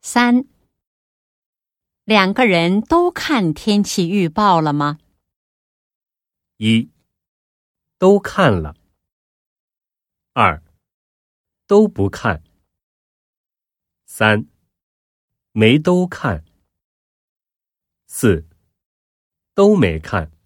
3. 两个人都看天气预报了吗？ 1. 都看了。2. 都不看。3. 没都看。4. 都没看。